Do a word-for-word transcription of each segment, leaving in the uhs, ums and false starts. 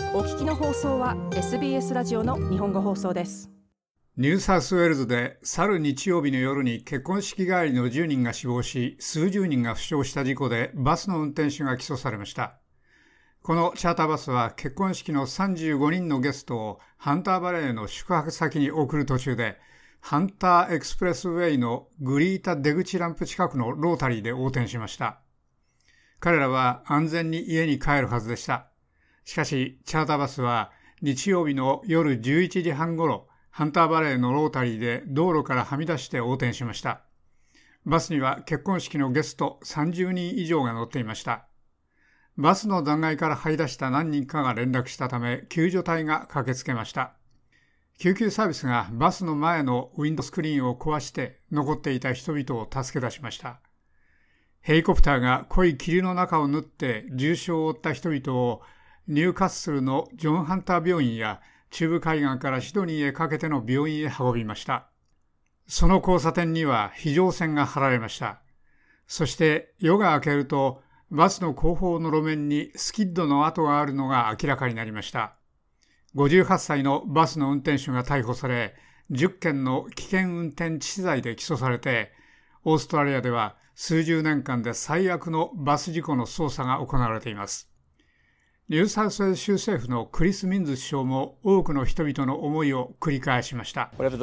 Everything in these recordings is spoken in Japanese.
お聞きの放送は エスビーエス ラジオの日本語放送です。 ニューサウスウェールズで去る日曜日の夜に結婚式帰りのじゅうにんが死亡し、数十人が負傷した事故でバスの運転手が起訴されました。このチャーターバスは結婚式のさんじゅうごにんのゲストをハンターバレーの宿泊先に送る途中で、ハンターエクスプレスウェイのグリータ出口ランプ近くのロータリーで横転しました。彼らは安全に家に帰るはずでした。しかし、チャーターバスは日曜日の夜じゅういちじはんごろ、ハンターバレーのロータリーで道路からはみ出して横転しました。バスには結婚式のゲストさんじゅうにん以上が乗っていました。バスの残骸から這い出した何人かが連絡したため、救助隊が駆けつけました。救急サービスがバスの前のウィンドスクリーンを壊して残っていた人々を助け出しました。ヘリコプターが濃い霧の中を縫って重傷を負った人々をニューカッスルのジョン・ハンター病院や中部海岸からシドニーへかけての病院へ運びました。その交差点には非常線が張られました。そして夜が明けるとバスの後方の路面にスキッドの跡があるのが明らかになりました。ごじゅうはっさいのバスの運転手が逮捕され、じゅっけんの危険運転致死罪で起訴されて、オーストラリアでは数十年間で最悪のバス事故の捜査が行われています。ニューサウスウェールズ州政府のクリス・ミンズ首相も多くの人々の思いを繰り返しました。この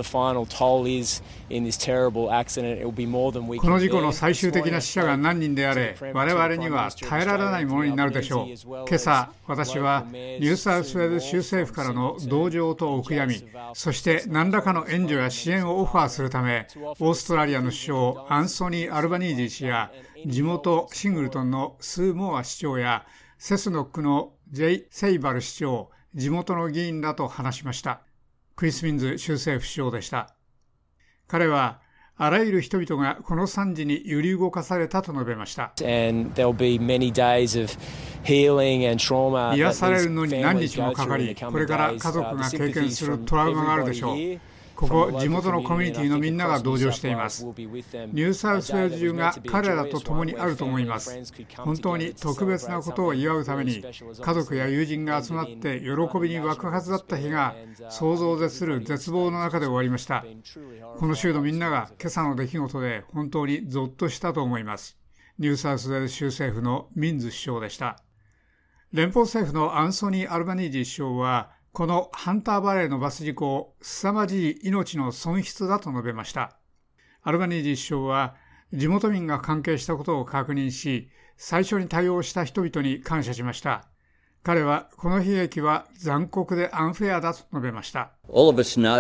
事故の最終的な死者が何人であれ、我々には耐えられないものになるでしょう。今朝、私はニューサウスウェールズ州政府からの同情とお悔やみ、そして何らかの援助や支援をオファーするため、オーストラリアの首相アンソニー・アルバニージー氏や地元シングルトンのスー・モア市長やセスノックのジェイ・セイバル市長、地元の議員らと話しました。クリス・ミンズ州政府首相でした。彼は、あらゆる人々がこの惨事に揺り動かされたと述べました。癒されるのに何日もかかり、これから家族が経験するトラウマがあるでしょう。ここ地元のコミュニティのみんなが同情しています。ニューサウスウェールズ中が彼らと共にあると思います。本当に特別なことを祝うために家族や友人が集まって喜びに沸くはずだった日が想像を絶する絶望の中で終わりました。この州のみんなが今朝の出来事で本当にゾッとしたと思います。ニューサウスウェールズ州政府のミンズ首相でした。連邦政府のアンソニー・アルバニージー首相はこのハンターバレーのバス事故を凄まじい命の損失だと述べました。アルバニージー首相は地元民が関係したことを確認し、最初に対応した人々に感謝しました。彼はこの悲劇は残酷でアンフェアだと述べました。我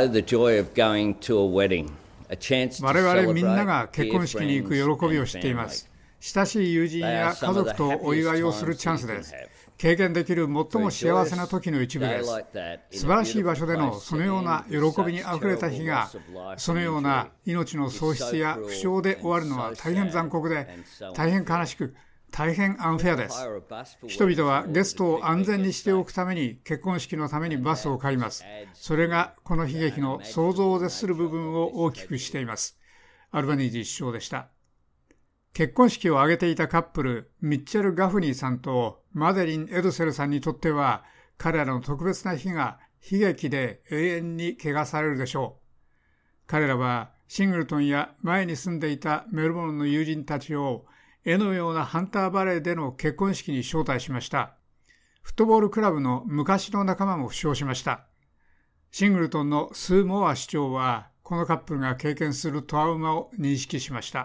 々みんなが結婚式に行く喜びを知っています。親しい友人や家族とお祝いをするチャンスです。経験できる最も幸せな時の一部です。素晴らしい場所でのそのような喜びにあふれた日が、そのような命の喪失や負傷で終わるのは大変残酷で、大変悲しく、大変アンフェアです。人々はゲストを安全にしておくために結婚式のためにバスを借ります。それがこの悲劇の想像を絶する部分を大きくしています。アルバニージー首相でした。結婚式を挙げていたカップル、ミッチェル・ガフニーさんとマデリン・エドセルさんにとっては、彼らの特別な日が悲劇で永遠に汚されるでしょう。彼らはシングルトンや前に住んでいたメルボルンの友人たちを絵のようなハンターバレーでの結婚式に招待しました。フットボールクラブの昔の仲間も負傷しました。シングルトンのスー・モア市長は、このカップルが経験するトラウマを認識しました。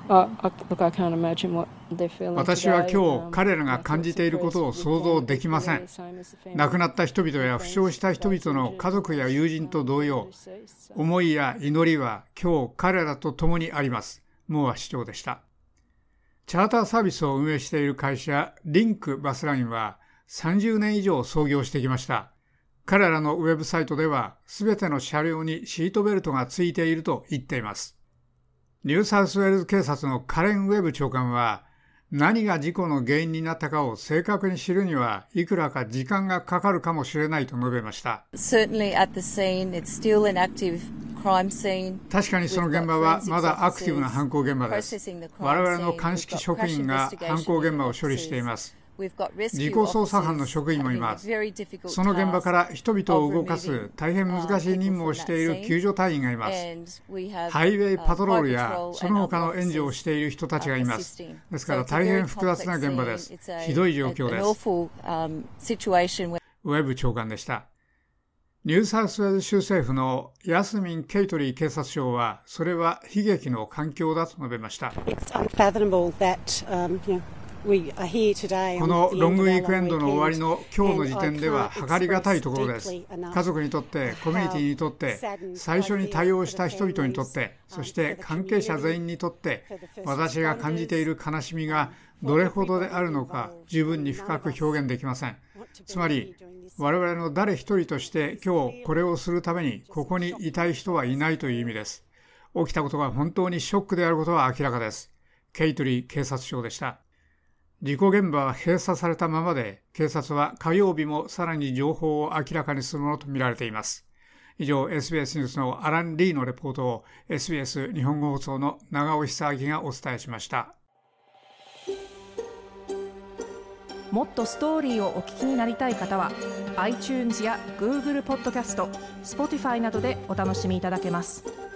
私は今日彼らが感じていることを想像できません。亡くなった人々や負傷した人々の家族や友人と同様、思いや祈りは今日彼らと共にあります。モア市長でした。チャーターサービスを運営している会社リンクバスラインはさんじゅうねん以上創業してきました。彼らのウェブサイトでは、すべての車両にシートベルトがついていると言っています。ニューサウスウェールズ警察のカレン・ウェブ長官は、何が事故の原因になったかを正確に知るにはいくらか時間がかかるかもしれないと述べました。確かにその現場はまだアクティブな犯行現場です。我々の鑑識職員が犯行現場を処理しています。 自己捜査班の職員もいます。その現場から人々を動かす大変難しい任務をしている救助隊員がいます。ハイウェイパトロールやその他の援助をしている人たちがいます。ですから大変複雑な現場です。ひどい状況です。ウェブ長官でした。ニューサウスウェールズ州政府のヤスミン・ケイトリー警察長は、それは悲劇の環境だと述べました。このロングウィークエンドの終わりの今日の時点では計りがたいところです。家族にとって、コミュニティにとって、最初に対応した人々にとって、そして関係者全員にとって、私が感じている悲しみがどれほどであるのか十分に深く表現できません。つまり我々の誰一人として今日これをするためにここにいたい人はいないという意味です。起きたことが本当にショックであることは明らかです。ケイトリー警察長でした。事故現場は閉鎖されたままで、警察は火曜日もさらに情報を明らかにするものとみられています。以上 エスビーエス ニュースのアラン・リーのレポートを エスビーエス 日本語放送の長尾久明がお伝えしました。 もっとストーリーをお聞きになりたい方は iTunes や Google ポッドキャスト、Spotify などでお楽しみいただけます。